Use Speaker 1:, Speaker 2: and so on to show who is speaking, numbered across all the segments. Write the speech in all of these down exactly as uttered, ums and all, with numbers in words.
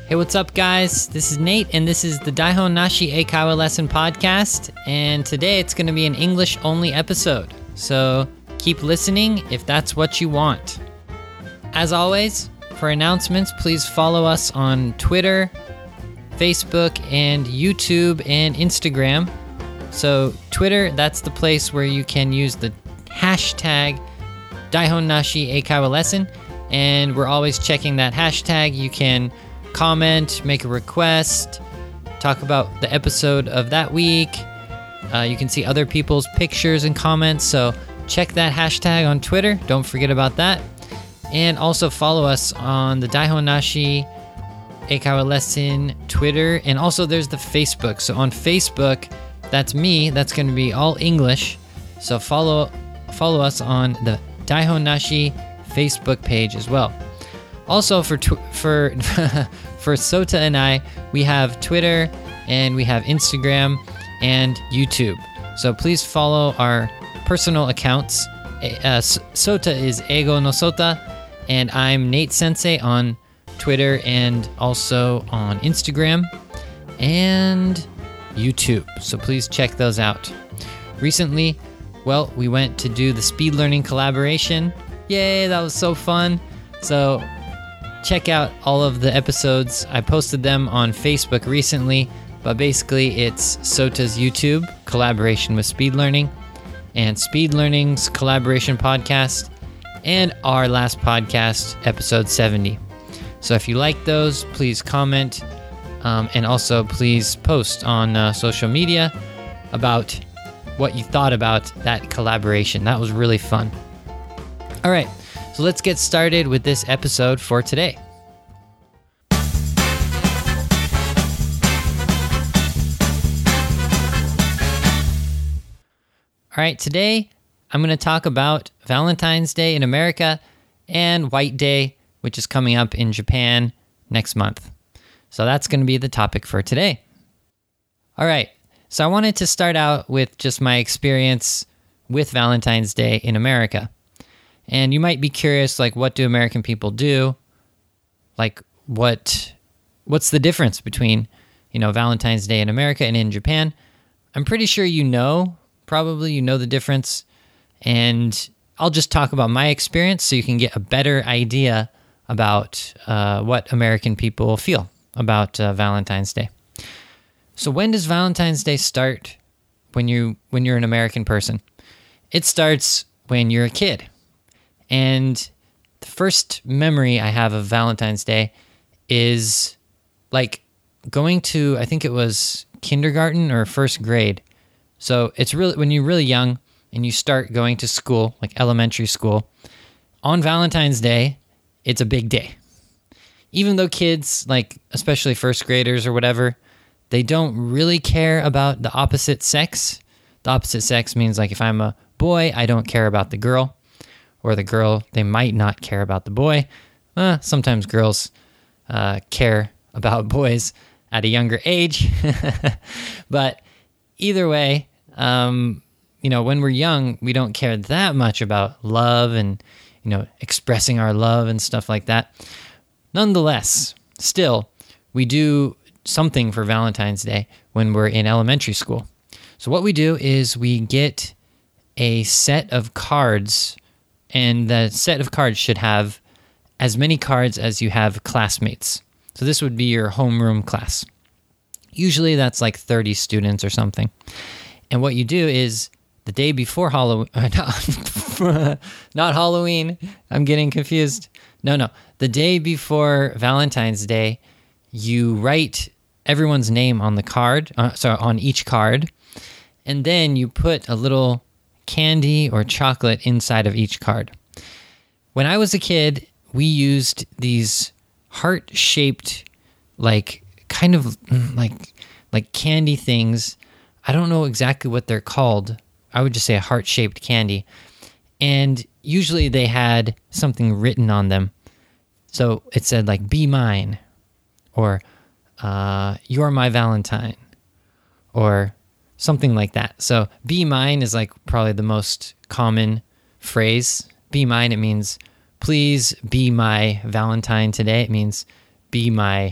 Speaker 1: Hey, what's up, guys? This is Nate, and this is the Daihon Nashi Eikaiwa Lesson Podcast, and today it's going to be an English-only episode, so keep listening if that's what you want. As always, for announcements, please follow us on Twitter, Facebook, and YouTube, and Instagram. So Twitter, that's the place where you can use the hashtag Daihon Nashi Eikaiwa Lesson, and we're always checking that hashtag. You can comment, make a request, talk about the episode of that week. Uh, you can see other people's pictures and comments, so check that hashtag on Twitter. Don't forget about that. And also follow us on the Daihon Nashi Eikaiwa Lesson Twitter, and also there's the Facebook. So on Facebook, that's me. That's going to be all English. So follow follow us on the Daihon Nashi Facebook page as well. Also for tw- for for Sota and I, we have Twitter and we have Instagram and YouTube. So please follow our personal accounts. Uh, Sota is Eigo no Sota, and I'm Nate Sensei on Twitter and also on Instagram and YouTube. So please check those out. Recently, well, we went to do the speed learning collaboration. Yay, that was so fun. So check out all of the episodes. I posted them on Facebook recently, but basically it's Sota's YouTube collaboration with Speed Learning and Speed Learning's collaboration podcast and our last podcast, episode seventy. So if you like those, please comment um, and also please post on uh, social media about what you thought about that collaboration. That was really fun. All right. So let's get started with this episode for today. All right, today I'm going to talk about Valentine's Day in America and White Day, which is coming up in Japan next month. So that's going to be the topic for today. All right, so I wanted to start out with just my experience with Valentine's Day in America. And you might be curious, like, what do American people do? Like, what what's the difference between, you know, Valentine's Day in America and in Japan? I'm pretty sure you know, probably you know the difference. And I'll just talk about my experience so you can get a better idea about uh, what American people feel about uh, Valentine's Day. So when does Valentine's Day start when you when you're an American person? It starts when you're a kid. And the first memory I have of Valentine's Day is like going to, I think it was kindergarten or first grade. So it's really, when you're really young and you start going to school, like elementary school, on Valentine's Day, it's a big day. Even though kids, like especially first graders or whatever, they don't really care about the opposite sex. The opposite sex means like if I'm a boy, I don't care about the girl. Or the girl, they might not care about the boy. Uh, sometimes girls uh, care about boys at a younger age. But either way, um, you know, when we're young, we don't care that much about love and, you know, expressing our love and stuff like that. Nonetheless, still, we do something for Valentine's Day when we're in elementary school. So what we do is we get a set of cards. And the set of cards should have as many cards as you have classmates. So this would be your homeroom class. Usually that's like thirty students or something. And what you do is the day before Halloween, not, not Halloween, I'm getting confused. No, no. The day before Valentine's Day, you write everyone's name on the card, uh, sorry, on each card. And then you put a little candy or chocolate inside of each card. When I was a kid, we used these heart-shaped, like, kind of like like candy things. I don't know exactly what they're called. I would just say a heart-shaped candy. And usually they had something written on them. So it said, like, be mine, or uh, you're my Valentine, or something like that. So be mine is like probably the most common phrase. Be mine, it means please be my Valentine today. It means be my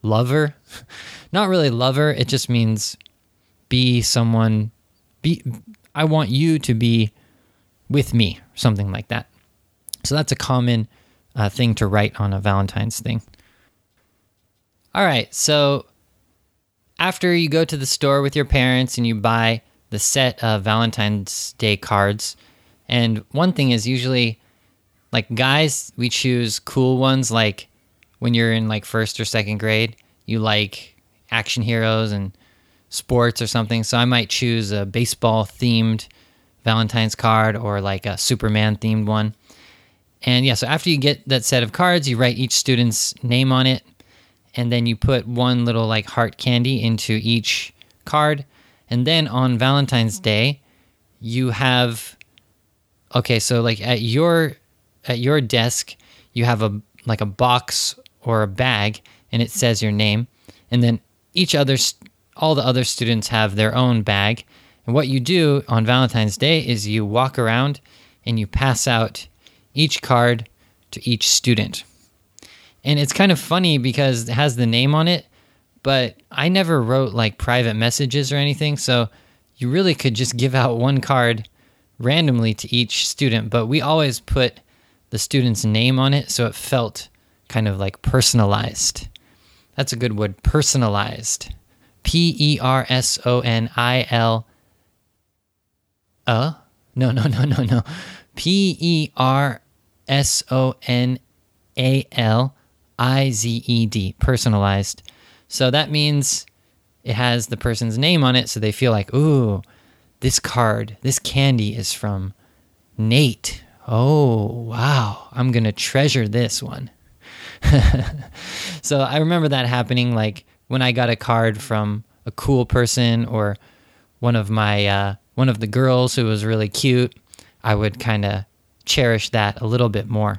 Speaker 1: lover. Not really lover. It just means be someone, be, I want you to be with me, something like that. So that's a common uh, thing to write on a Valentine's thing. All right, so after you go to the store with your parents and you buy the set of Valentine's Day cards, and one thing is usually, like guys, we choose cool ones, like when you're in like first or second grade, you like action heroes and sports or something. So I might choose a baseball themed Valentine's card or like a Superman themed one. And yeah, so after you get that set of cards, you write each student's name on it, and then you put one little like heart candy into each card. And then on Valentine's Day, you have, okay, so like at your at your desk, you have a like a box or a bag, and it says your name. And then each other, all the other students have their own bag. And what you do on Valentine's Day is you walk around and you pass out each card to each student. And it's kind of funny because it has the name on it, but I never wrote like private messages or anything, so you really could just give out one card randomly to each student, but we always put the student's name on it, so it felt kind of like personalized. That's a good word, personalized. P E R S O N I L. Uh? No, no, no, no, no. P E R S O N A L I Z E D, personalized. So that means it has the person's name on it, so they feel like, ooh, this card, this candy is from Nate. Oh, wow, I'm going to treasure this one. So I remember that happening, like when I got a card from a cool person or one of my uh, one of the girls who was really cute, I would kind of cherish that a little bit more.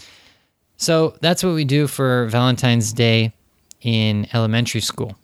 Speaker 1: So that's what we do for Valentine's Day in elementary school.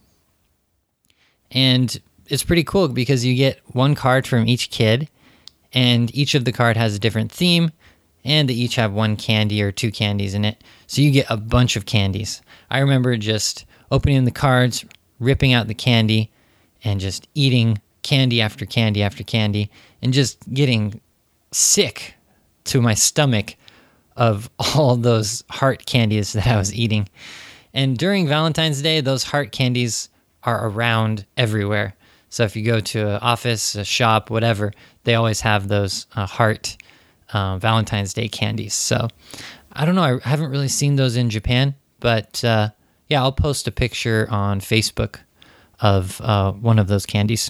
Speaker 1: And it's pretty cool because you get one card from each kid, and each of the card has a different theme, and they each have one candy or two candies in it. So you get a bunch of candies. I remember just opening the cards, ripping out the candy, and just eating candy after candy after candy, and just getting sick to my stomach of all those heart candies that I was eating. And during Valentine's Day, those heart candies are around everywhere. So if you go to an office, a shop, whatever, they always have those uh, heart uh, Valentine's Day candies. So I don't know, I haven't really seen those in Japan, but uh, yeah, I'll post a picture on Facebook of uh, one of those candies.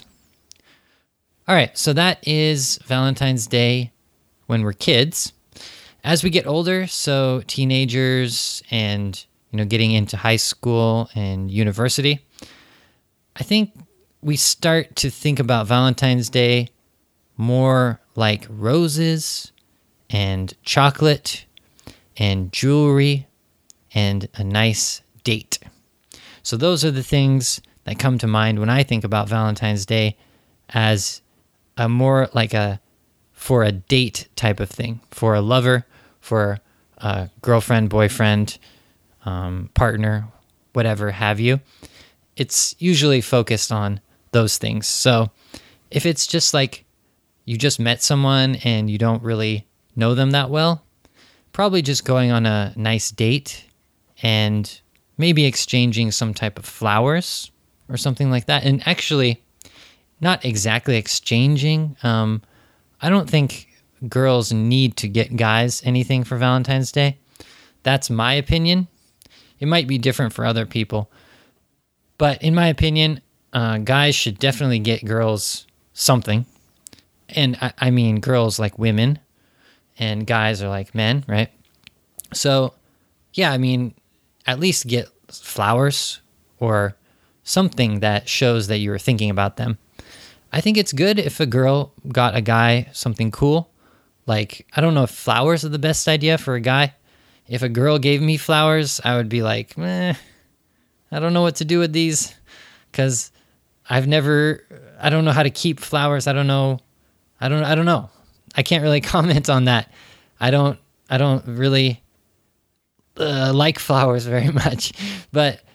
Speaker 1: All right, so that is Valentine's Day when we're kids. As we get older, so teenagers and, you know, getting into high school and university, I think we start to think about Valentine's Day more like roses and chocolate and jewelry and a nice date. So those are the things that come to mind when I think about Valentine's Day as a more like a for a date type of thing, for a lover, for a girlfriend, boyfriend, um, partner, whatever have you. It's usually focused on those things. So if it's just like you just met someone and you don't really know them that well, probably just going on a nice date and maybe exchanging some type of flowers or something like that. And actually, not exactly exchanging. Um, I don't think girls need to get guys anything for Valentine's Day. That's my opinion. It might be different for other people. But in my opinion, uh, guys should definitely get girls something. And I, I mean girls like women, and guys are like men, right? So, yeah, I mean, at least get flowers or something that shows that you were thinking about them. I think it's good if a girl got a guy something cool. Like, I don't know if flowers are the best idea for a guy. If a girl gave me flowers, I would be like, eh, I don't know what to do with these, because I've never, I don't know how to keep flowers. I don't know. I don't, I don't know. I can't really comment on that. I don't, I don't really uh, like flowers very much. But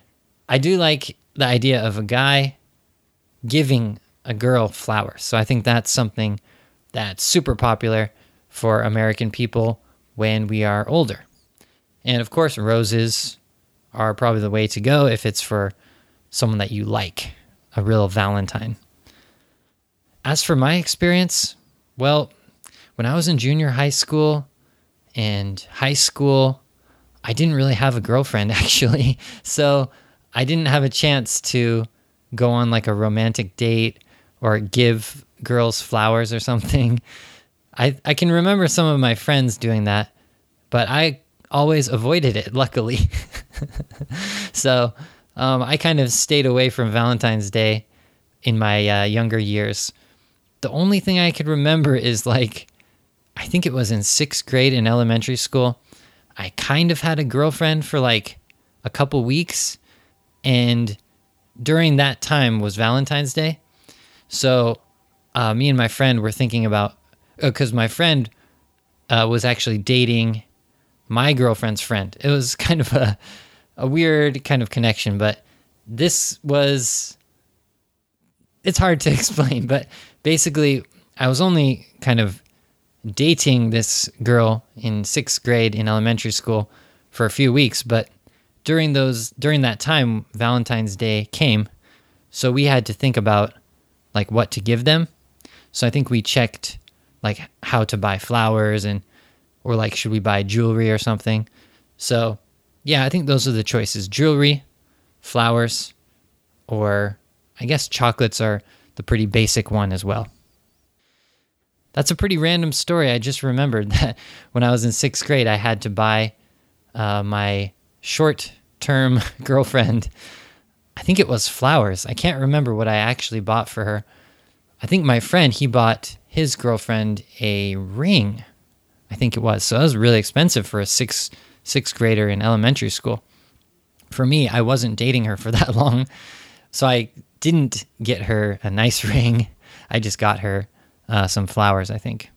Speaker 1: I do like the idea of a guy giving a girl flowers. So I think that's something that's super popular for American people when we are older. And of course, roses are probably the way to go if it's for someone that you like, a real Valentine. As for my experience, well, when I was in junior high school and high school, I didn't really have a girlfriend, actually. So I didn't have a chance to go on like a romantic date or give girls flowers or something. I, I can remember some of my friends doing that, but I always avoided it, luckily. so um, I kind of stayed away from Valentine's Day in my uh, younger years. The only thing I could remember is like, I think it was in sixth grade in elementary school. I kind of had a girlfriend for like a couple weeks, and during that time was Valentine's Day. So uh, me and my friend were thinking about, because uh, my friend uh, was actually dating my girlfriend's friend. It was kind of a, a weird kind of connection, but this was, it's hard to explain, but basically I was only kind of dating this girl in sixth grade in elementary school for a few weeks, but during those during that time Valentine's Day came, so we had to think about like what to give them. So I think we checked like how to buy flowers, and or like should we buy jewelry or something. So yeah, I think those are the choices: jewelry, flowers, or I guess chocolates are the pretty basic one as well. That's a pretty random story. I just remembered that when I was in sixth grade, I had to buy uh, my short-term girlfriend, I think it was flowers. I can't remember what I actually bought for her. I think my friend, he bought his girlfriend a ring, I think it was. So that was really expensive for a sixth, sixth grader in elementary school. For me, I wasn't dating her for that long, so I didn't get her a nice ring. I just got her Uh, some flowers, I think.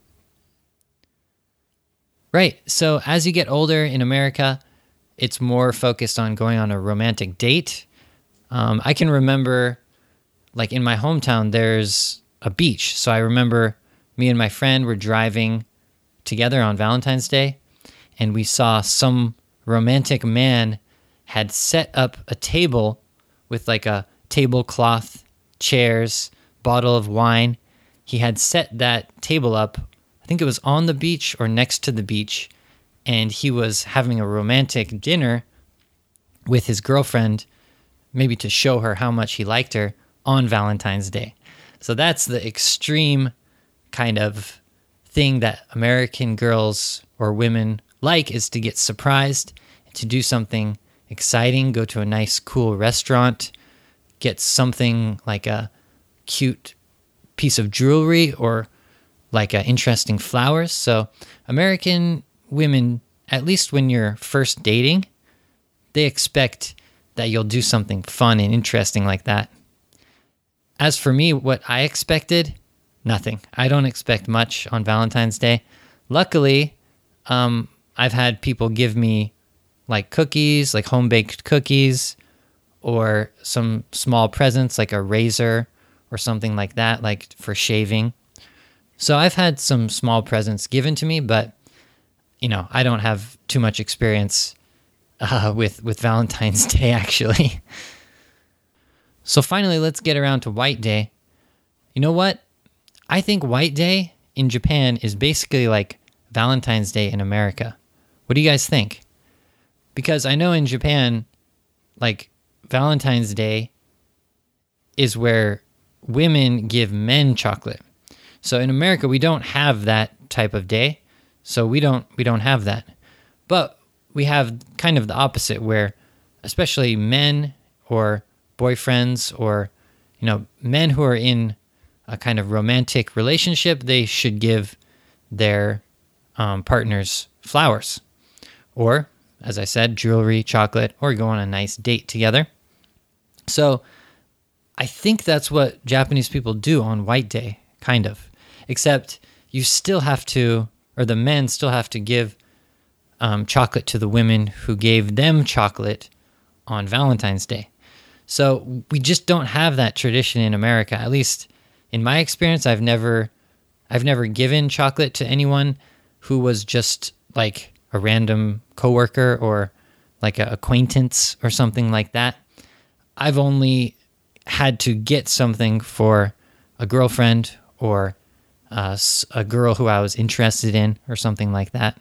Speaker 1: Right, so as you get older in America, it's more focused on going on a romantic date. Um, I can remember, like in my hometown, there's a beach. So I remember me and my friend were driving together on Valentine's Day, and we saw some romantic man had set up a table with like a tablecloth, chairs, bottle of wine. He had set that table up, I think it was on the beach or next to the beach, and he was having a romantic dinner with his girlfriend, maybe to show her how much he liked her on Valentine's Day. So that's the extreme kind of thing that American girls or women like, is to get surprised, to do something exciting, go to a nice, cool restaurant, get something like a cute piece of jewelry or like uh, interesting flowers. So American women, at least when you're first dating, they expect that you'll do something fun and interesting like that. As for me, what I expected, nothing. I don't expect much on Valentine's Day. Luckily, um, I've had people give me like cookies, like home-baked cookies, or some small presents like a razor or something like that, like for shaving. So I've had some small presents given to me, but, you know, I don't have too much experience uh, with, with Valentine's Day, actually. So finally, let's get around to White Day. You know what? I think White Day in Japan is basically like Valentine's Day in America. What do you guys think? Because I know in Japan, like Valentine's Day is where women give men chocolate. So in America, we don't have that type of day. So we don't we don't have that. But we have kind of the opposite, where especially men or boyfriends, or, you know, men who are in a kind of romantic relationship, they should give their um, partners flowers, or, as I said, jewelry, chocolate, or go on a nice date together. So I think that's what Japanese people do on White Day, kind of. Except you still have to, or the men still have to give um, chocolate to the women who gave them chocolate on Valentine's Day. So we just don't have that tradition in America. At least in my experience, I've never I've never given chocolate to anyone who was just like a random coworker or like an acquaintance or something like that. I've only had to get something for a girlfriend or uh, a girl who I was interested in or something like that.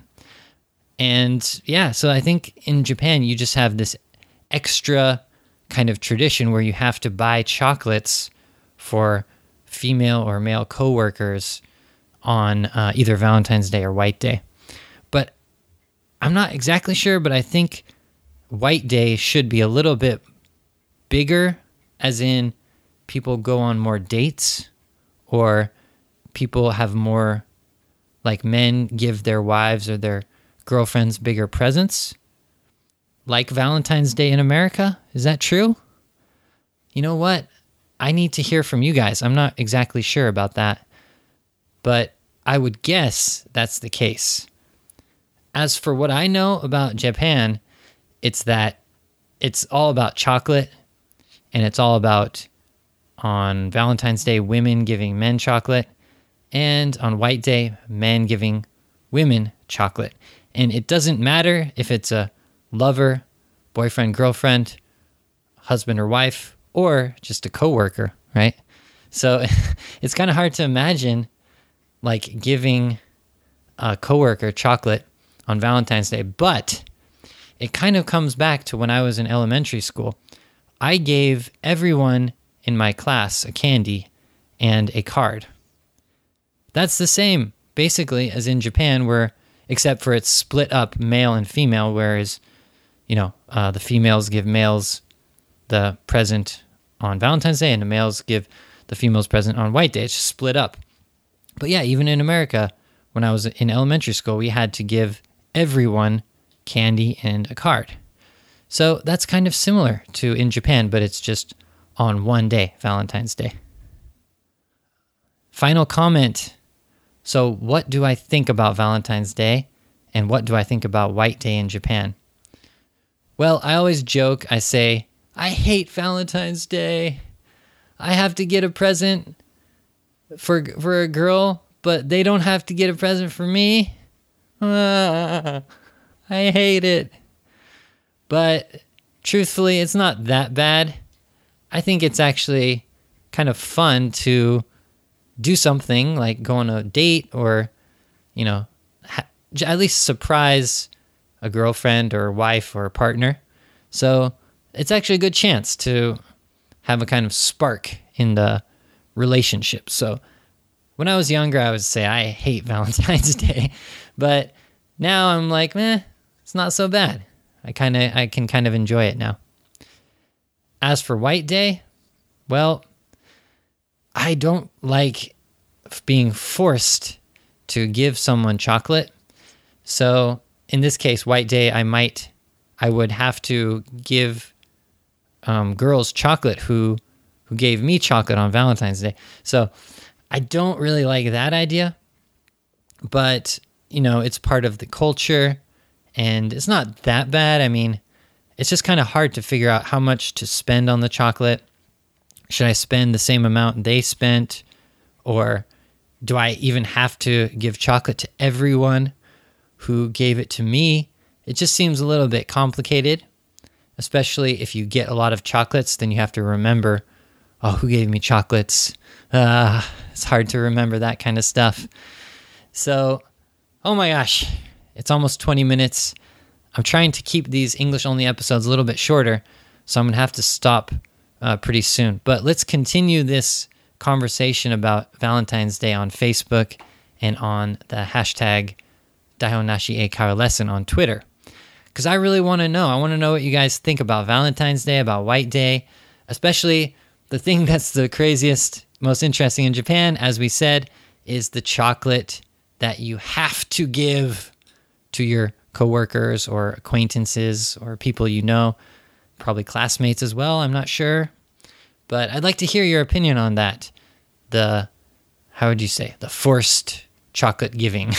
Speaker 1: And yeah, so I think in Japan, you just have this extra kind of tradition where you have to buy chocolates for female or male coworkers on uh, either Valentine's Day or White Day. But I'm not exactly sure, but I think White Day should be a little bit bigger, as in people go on more dates, or people have more, like men give their wives or their girlfriends bigger presents, like Valentine's Day in America. Is that true? You know what? I need to hear from you guys. I'm not exactly sure about that, but I would guess that's the case. As for what I know about Japan, it's that it's all about chocolate, and it's all about, on Valentine's Day, women giving men chocolate, and on White Day, men giving women chocolate. And it doesn't matter if it's a lover, boyfriend, girlfriend, husband or wife, or just a coworker, right? So it's kind of hard to imagine like giving a coworker chocolate on Valentine's Day, but it kind of comes back to when I was in elementary school. I gave everyone in my class a candy and a card. That's the same, basically, as in Japan, where, except for it's split up male and female, whereas, you know, uh, the females give males the present on Valentine's Day, and the males give the females present on White Day. It's just split up. But yeah, even in America, when I was in elementary school, we had to give everyone candy and a card. So that's kind of similar to in Japan, but it's just on one day, Valentine's Day. Final comment. So what do I think about Valentine's Day, and what do I think about White Day in Japan? Well, I always joke, I say, I hate Valentine's Day. I have to get a present for for a girl, but they don't have to get a present for me. Ah, I hate it. But truthfully, it's not that bad. I think it's actually kind of fun to do something like go on a date, or, you know, ha- at least surprise a girlfriend or wife or partner. So it's actually a good chance to have a kind of spark in the relationship. So when I was younger, I would say I hate Valentine's Day, but now I'm like, eh, it's not so bad. I kind of I can kind of enjoy it now. As for White Day, well, I don't like being forced to give someone chocolate. So in this case, White Day, I might, I would have to give um, girls chocolate who who gave me chocolate on Valentine's Day. So I don't really like that idea, but you know, it's part of the culture, and it's not that bad. I mean, it's just kind of hard to figure out how much to spend on the chocolate. Should I spend the same amount they spent? Or do I even have to give chocolate to everyone who gave it to me? It just seems a little bit complicated, especially if you get a lot of chocolates, then you have to remember, oh, who gave me chocolates? Uh, it's hard to remember that kind of stuff. So, oh my gosh, it's almost twenty minutes. I'm trying to keep these English-only episodes a little bit shorter, so I'm going to have to stop uh, pretty soon. But let's continue this conversation about Valentine's Day on Facebook and on the hashtag Daihonnashi Eikaiwa Lesson on Twitter. Because I really want to know. I want to know what you guys think about Valentine's Day, about White Day, especially the thing that's the craziest, most interesting in Japan, as we said, is the chocolate that you have to give to your coworkers or acquaintances or people you know, probably classmates as well, I'm not sure. But I'd like to hear your opinion on that. The, how would you say, the forced chocolate giving.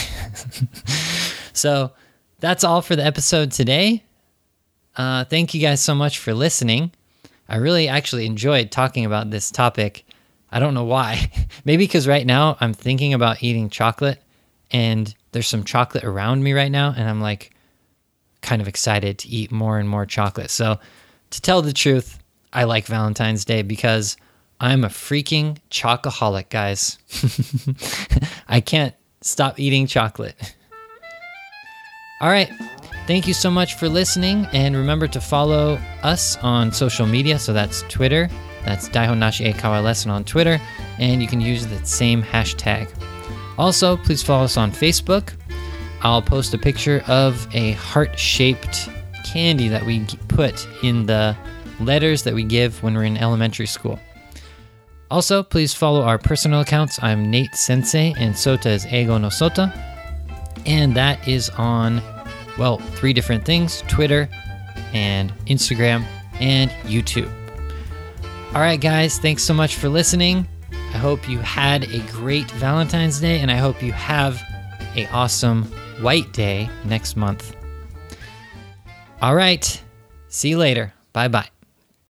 Speaker 1: So that's all for the episode today. Uh, thank you guys so much for listening. I really actually enjoyed talking about this topic. I don't know why. Maybe because right now I'm thinking about eating chocolate and there's some chocolate around me right now. And I'm like kind of excited to eat more and more chocolate. So to tell the truth, I like Valentine's Day because I'm a freaking chocoholic, guys. I can't stop eating chocolate. All right. Thank you so much for listening. And remember to follow us on social media. So that's Twitter. That's Daihon Nashi e Kawa Lesson on Twitter. And you can use the same hashtag. Also, please follow us on Facebook. I'll post a picture of a heart-shaped candy that we put in the letters that we give when we're in elementary school. Also, please follow our personal accounts. I'm Nate Sensei, and Sota is Eigo no Sota. And that is on, well, three different things, Twitter and Instagram and YouTube. All right, guys, thanks so much for listening. I hope you had a great Valentine's Day, and I hope you have an awesome White Day next month. All right, see you later. Bye-bye.